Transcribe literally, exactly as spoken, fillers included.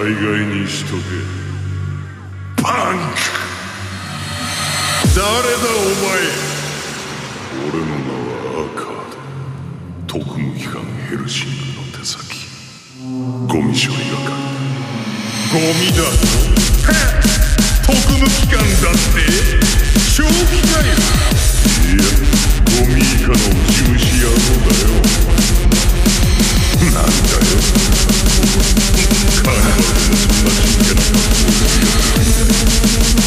概にしとけ。パンク。誰だお前。俺の名はアーカード。特務機関ヘルシングの手先。ゴミ処理係。ゴミだと。特務機関だって正気かよ。いや、ゴミ以下のウジ虫野郎だよ。なんだよ、カーナバルでもそんな真剣な格好をするやつがいた。